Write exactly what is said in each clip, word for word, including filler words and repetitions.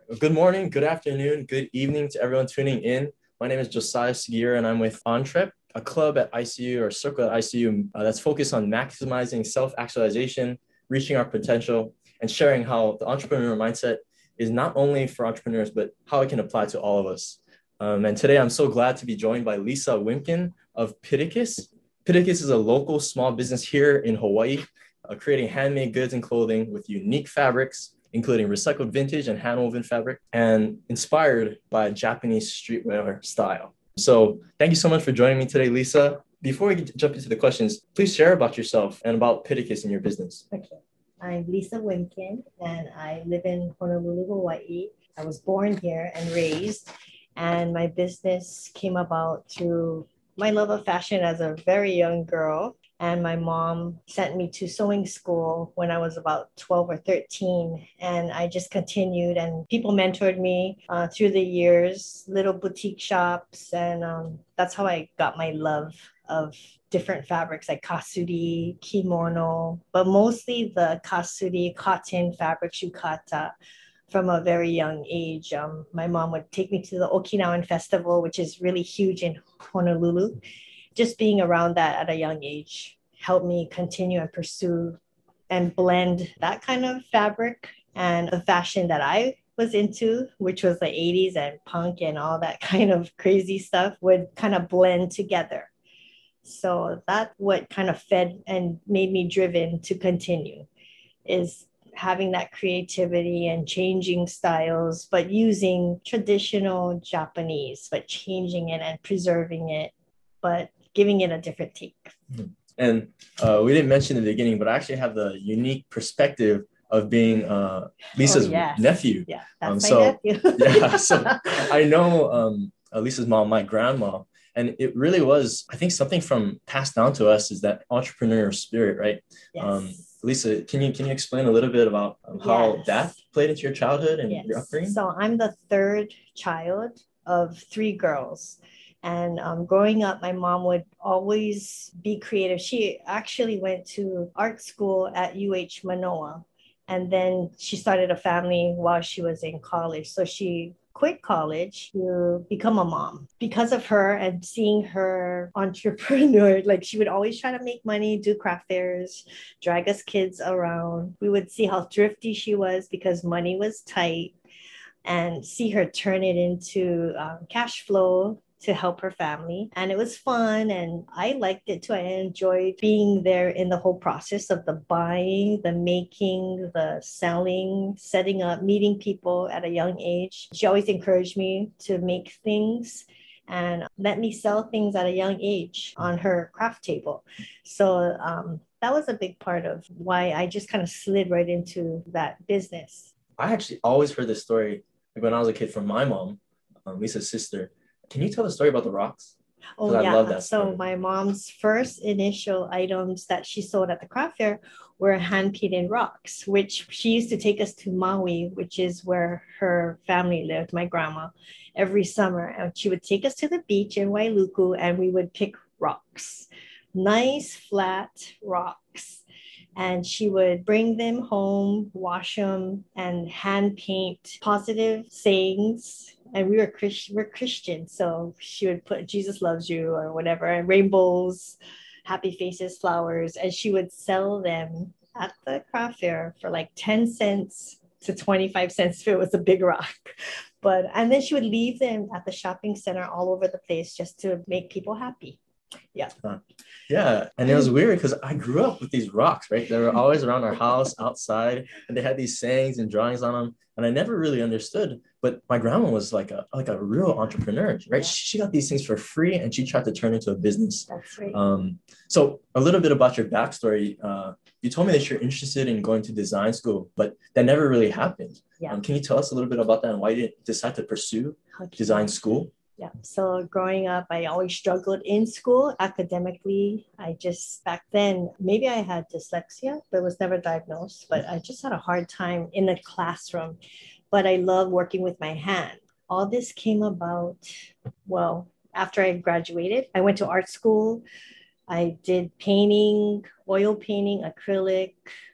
Good morning, good afternoon, good evening to everyone tuning in. My name is Josiah Segura, and I'm with Entrep, a club at I C U or circle at I C U uh, that's focused on maximizing self-actualization, reaching our potential, and sharing how the entrepreneurial mindset is not only for entrepreneurs, but how it can apply to all of us. Um, and today I'm so glad to be joined by Lisa Wimkin of Pittacus. Pittacus is a local small business here in Hawaii, uh, creating handmade goods and clothing with unique fabrics, including recycled vintage and hand-woven fabric, and inspired by Japanese streetwear style. So thank you so much for joining me today, Lisa. Before we jump into the questions, please share about yourself and about Pittacus and your business. Okay. I'm Lisa Wimkin, and I live in Honolulu, Hawaii. I was born here and raised, and my business came about through my love of fashion as a very young girl. And my mom sent me to sewing school when I was about twelve or thirteen. And I just continued, and people mentored me uh, through the years, little boutique shops. And um, that's how I got my love of different fabrics like kasuri, kimono, but mostly the kasuri cotton fabric yukata from a very young age. Um, my mom would take me to the Okinawan Festival, which is really huge in Honolulu. Just being around that at a young age helped me continue and pursue and blend that kind of fabric and the fashion that I was into, which was the eighties and punk and all that kind of crazy stuff, would kind of blend together. So that's what kind of fed and made me driven to continue, is having that creativity and changing styles, but using traditional Japanese, but changing it and preserving it, but giving it a different take. And uh, we didn't mention in the beginning, but I actually have the unique perspective of being uh, Lisa's Oh, yes. nephew. Yeah, that's Um, my so, nephew. yeah, so I know um, uh, Lisa's mom, my grandma, and it really was, I think, something from passed down to us is that entrepreneurial spirit, right? Yes. Um, Lisa, can you can you explain a little bit about um, how Yes. that played into your childhood and Yes. your upbringing? So I'm the third child of three girls. And um, growing up, my mom would always be creative. She actually went to art school at U H Manoa. And then she started a family while she was in college. So she quit college to become a mom. Because of her and seeing her entrepreneur, like she would always try to make money, do craft fairs, drag us kids around. We would see how thrifty she was because money was tight, and see her turn it into um, cash flow to help her family. And it was fun. And I liked it too. I enjoyed being there in the whole process of the buying, the making, the selling, setting up, meeting people at a young age. She always encouraged me to make things and let me sell things at a young age on her craft table. So um, that was a big part of why I just kind of slid right into that business. I actually always heard this story like when I was a kid from my mom, um, Lisa's sister. Can you tell the story about the rocks? Oh, Because I love yeah. that So story. my mom's first initial items that she sold at the craft fair were hand painted rocks, which she used to take us to Maui, which is where her family lived, my grandma, every summer. And she would take us to the beach in Wailuku and we would pick rocks, nice flat rocks. And she would bring them home, wash them, and hand paint positive sayings. And we were Christ- we're Christian, so she would put Jesus loves you or whatever, and rainbows, happy faces, flowers, and she would sell them at the craft fair for like ten cents to twenty-five cents if it was a big rock. But and then she would leave them at the shopping center all over the place just to make people happy. Yeah. Uh, yeah, and it was weird because I grew up with these rocks, right? They were always around our house, outside, and they had these sayings and drawings on them, and I never really understood. But my grandma was like a like a real entrepreneur, right? Yeah. She got these things for free, and she tried to turn it into a business. That's right. Um, so a little bit about your backstory. Uh, you told me that you're interested in going to design school, but that never really happened. Yeah. Um, can you tell us a little bit about that and why you didn't decide to pursue Okay. design school? Yeah. So growing up, I always struggled in school academically. I just, back then, maybe I had dyslexia, but was never diagnosed. But I just had a hard time in the classroom. But I love working with my hand. All this came about, well, after I graduated, I went to art school. I did painting, oil painting, acrylic,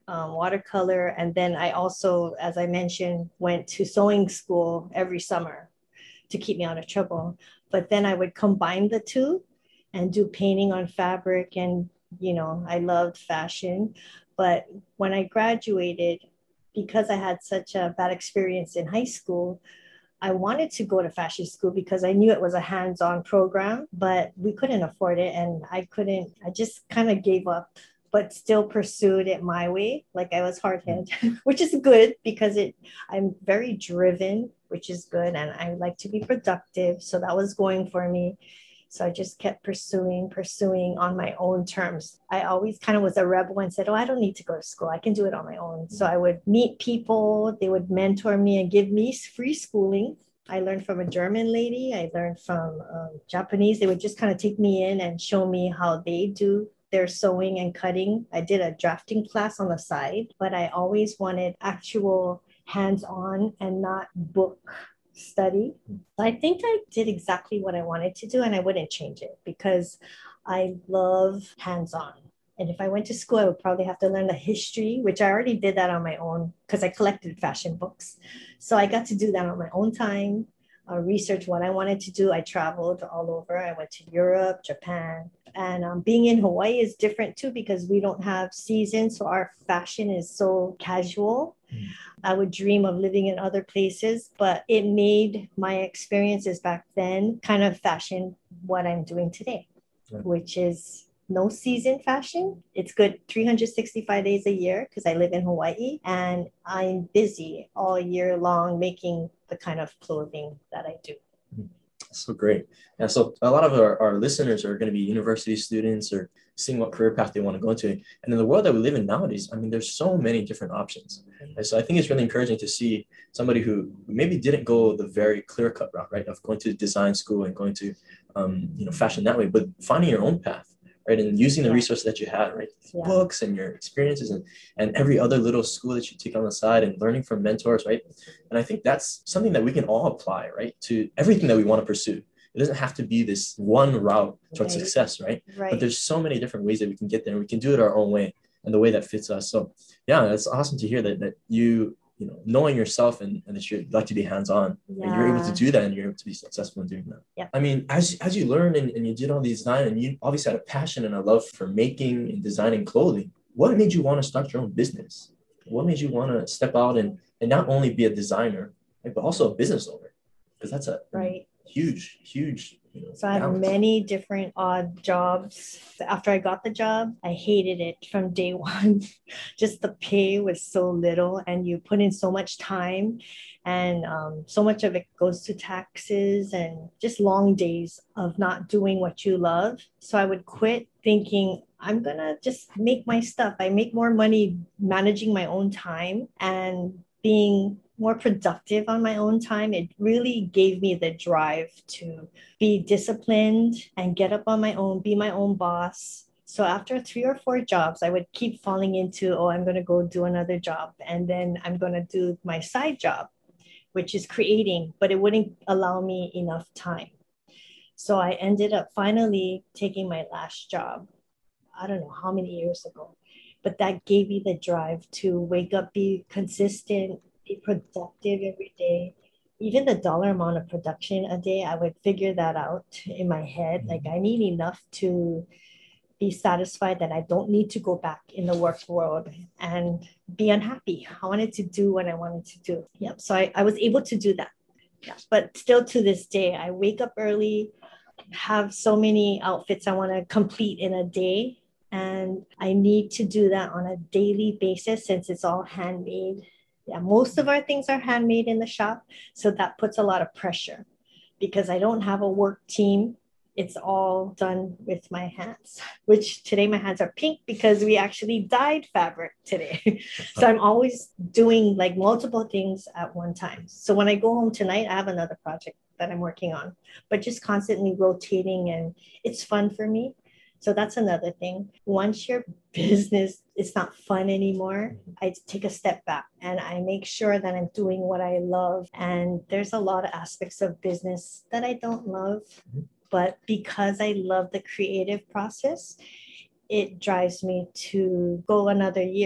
um, watercolor. And then I also, as I mentioned, went to sewing school every summer to keep me out of trouble. But then I would combine the two and do painting on fabric. And, you know, I loved fashion. But when I graduated, because I had such a bad experience in high school, I wanted to go to fashion school because I knew it was a hands-on program, but we couldn't afford it. And I couldn't, I just kind of gave up, but still pursued it my way. Like I was hard-headed, which is good because it, I'm very driven, which is good. And I like to be productive. So that was going for me. So I just kept pursuing, pursuing on my own terms. I always kind of was a rebel and said, oh, I don't need to go to school. I can do it on my own. So I would meet people, they would mentor me and give me free schooling. I learned from a German lady. I learned from um, Japanese. They would just kind of take me in and show me how they do their sewing and cutting. I did a drafting class on the side, but I always wanted actual hands-on and not book study. I think I did exactly what I wanted to do and I wouldn't change it because I love hands-on. And if I went to school, I would probably have to learn the history, which I already did that on my own because I collected fashion books. So I got to do that on my own time, uh, research what I wanted to do. I traveled all over. I went to Europe, Japan, and um, being in Hawaii is different too because we don't have seasons. So our fashion is so casual. Mm. I would dream of living in other places, but it made my experiences back then kind of fashion what I'm doing today, yeah. Which is no season fashion. It's good three hundred sixty-five days a year because I live in Hawaii and I'm busy all year long making the kind of clothing that I do. So great. Yeah, so a lot of our, our listeners are going to be university students or seeing what career path they want to go into. And in the world that we live in nowadays, I mean, there's so many different options. And so I think it's really encouraging to see somebody who maybe didn't go the very clear-cut route, right, of going to design school and going to, um, you know, fashion that way, but finding your own path. Right, and using the yeah. resources that you had, right, yeah. books and your experiences and, and every other little school that you take on the side and learning from mentors, right? And I think that's something that we can all apply, right, to everything that we want to pursue. It doesn't have to be this one route towards right. success, right? right? But there's so many different ways that we can get there and we can do it our own way and the way that fits us. So yeah, it's awesome to hear that that you, you know, knowing yourself and, and that you like to be hands-on yeah. and you're able to do that and you're able to be successful in doing that. Yeah. I mean, as, as you learned and, and you did all these design and you obviously had a passion and a love for making and designing clothing, what made you want to start your own business? What made you want to step out and, and not only be a designer, right, but also a business owner? Because that's a right. huge, huge You know, so I had many different odd jobs. After I got the job, I hated it from day one. Just the pay was so little and you put in so much time and um, so much of it goes to taxes and just long days of not doing what you love. So I would quit thinking, I'm gonna just make my stuff. I make more money managing my own time and being more productive on my own time. It really gave me the drive to be disciplined and get up on my own, be my own boss. So after three or four jobs, I would keep falling into, oh, I'm going to go do another job. And then I'm going to do my side job, which is creating, but it wouldn't allow me enough time. So I ended up finally taking my last job. I don't know how many years ago, but that gave me the drive to wake up, be consistent, be productive every day. Even the dollar amount of production a day, I would figure that out in my head. Like I need enough to be satisfied that I don't need to go back in the work world and be unhappy. I wanted to do what I wanted to do. Yep. So I, I was able to do that. Yeah. But still to this day, I wake up early, have so many outfits I want to complete in a day. And I need to do that on a daily basis since it's all handmade. Yeah, most of our things are handmade in the shop. So that puts a lot of pressure because I don't have a work team. It's all done with my hands, which today my hands are pink because we actually dyed fabric today. So I'm always doing like multiple things at one time. So when I go home tonight, I have another project that I'm working on, but just constantly rotating and it's fun for me. So that's another thing. Once your business is not fun anymore, I take a step back and I make sure that I'm doing what I love. And there's a lot of aspects of business that I don't love, but because I love the creative process, it drives me to go another year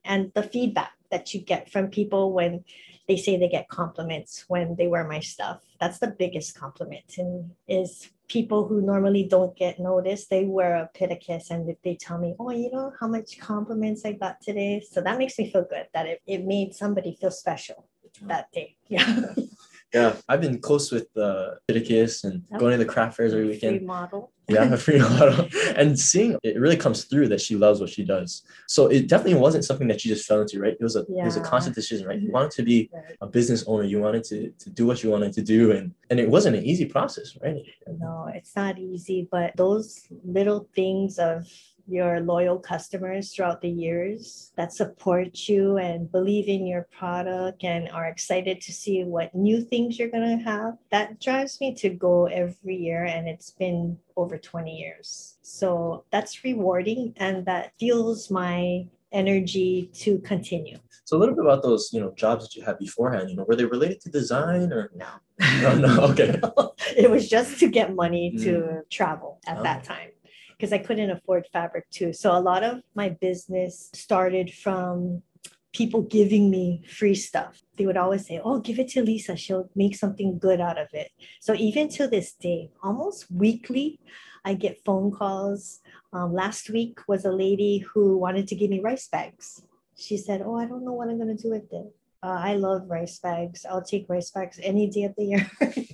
and the feedback that you get from people when they say they get compliments when they wear my stuff. That's the biggest compliment, and is people who normally don't get noticed. They wear a Pittacus and they tell me, oh, you know how much compliments I got today. So that makes me feel good that it, it made somebody feel special that day. Yeah. Yeah, I've been close with uh, Pittacus and Yep. going to the craft fairs every weekend. Free model. Yeah, a free model. And seeing it really comes through that she loves what she does. So it definitely wasn't something that you just fell into, right? It was a Yeah. it was a conscious decision, right? You wanted to be Right. a business owner. You wanted to to do what you wanted to do, and and it wasn't an easy process, right? No, it's not easy, but those little things of your loyal customers throughout the years that support you and believe in your product and are excited to see what new things you're going to have, that drives me to go every year. And it's been over twenty years. So that's rewarding, and that fuels my energy to continue. So a little bit about those, you know, jobs that you had beforehand, you know, were they related to design or? No. No, no, okay. It was just to get money to Mm. travel at Oh. that time, because I couldn't afford fabric too. So a lot of my business started from people giving me free stuff. They would always say, oh, give it to Lisa. She'll make something good out of it. So even to this day, almost weekly, I get phone calls. Um, last week was a lady who wanted to give me rice bags. She said, oh, I don't know what I'm going to do with it. Uh, I love rice bags. I'll take rice bags any day of the year.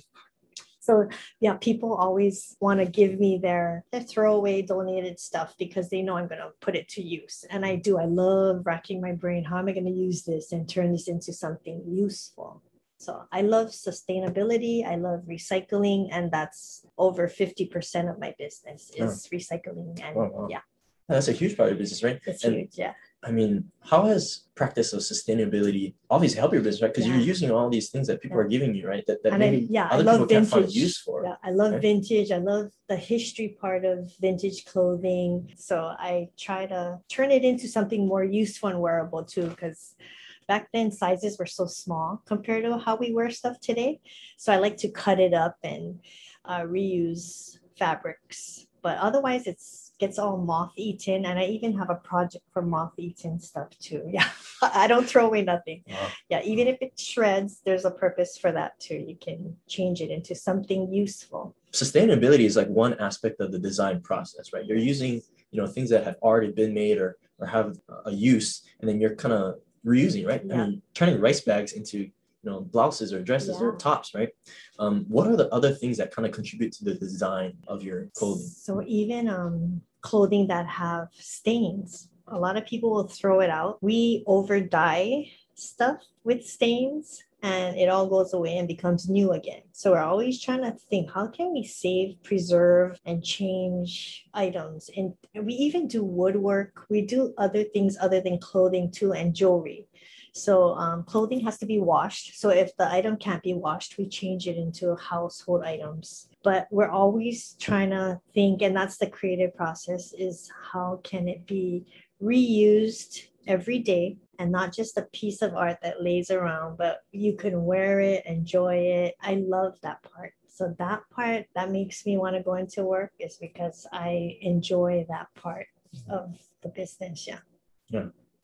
So yeah, people always want to give me their, their throwaway donated stuff because they know I'm going to put it to use. And I do. I love racking my brain. How am I going to use this and turn this into something useful? So I love sustainability. I love recycling. And that's over fifty percent of my business is oh. recycling. And wow, wow. yeah. That's a huge part of your business, right? It's and, huge, yeah. I mean, how has practice of sustainability obviously helped your business, right? Because yeah. you're using all these things that people yeah. are giving you, right? That, that maybe I, yeah, other people vintage. Can't find use for. Yeah, I love right? vintage. I love the history part of vintage clothing. So I try to turn it into something more useful and wearable too, because back then sizes were so small compared to how we wear stuff today. So I like to cut it up and uh, reuse fabrics. But otherwise, it's gets all moth-eaten, and I even have a project for moth-eaten stuff too. Yeah, I don't throw away nothing. Wow. Yeah, even if it shreds, there's a purpose for that too. You can change it into something useful. Sustainability is like one aspect of the design process, right? You're using, you know, things that have already been made or or have a use, and then you're kind of reusing, right? Yeah. I mean, turning rice bags into you know, blouses or dresses yeah. or tops, right? Um, what are the other things that kind of contribute to the design of your clothing? So even um, clothing that have stains, a lot of people will throw it out. We over dye stuff with stains and it all goes away and becomes new again. So we're always trying to think, how can we save, preserve, and change items? And we even do woodwork. We do other things other than clothing too, and jewelry. So um, clothing has to be washed. So if the item can't be washed, we change it into household items. But we're always trying to think, and that's the creative process, is how can it be reused every day and not just a piece of art that lays around, but you can wear it, enjoy it. I love that part. So that part that makes me want to go into work is because I enjoy that part of the business. Yeah. Yeah.